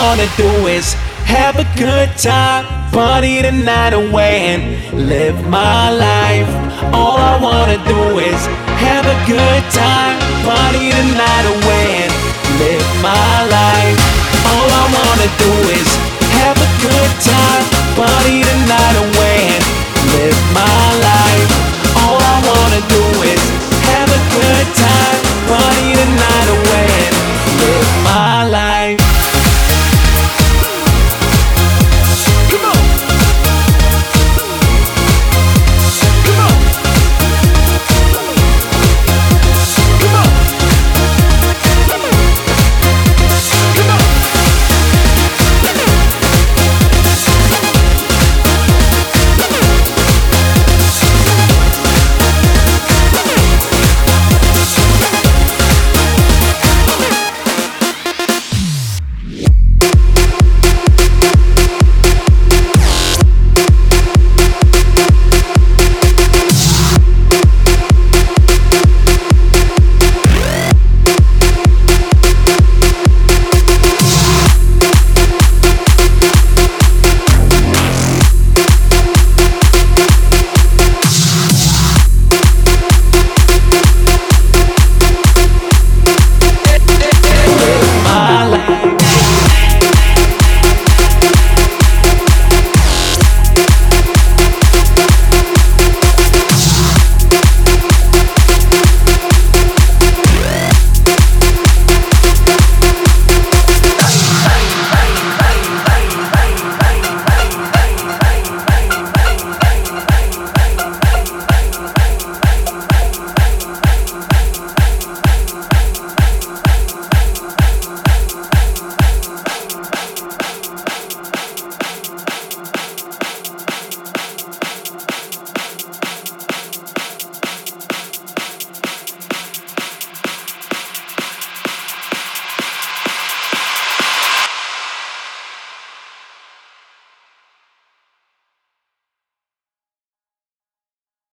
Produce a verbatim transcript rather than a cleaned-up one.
wanna do is have a good time, party the night away and live my life. All I wanna do is have a good time, party the night away and live my life. All I wanna do is have a good time, party the night away and live my life.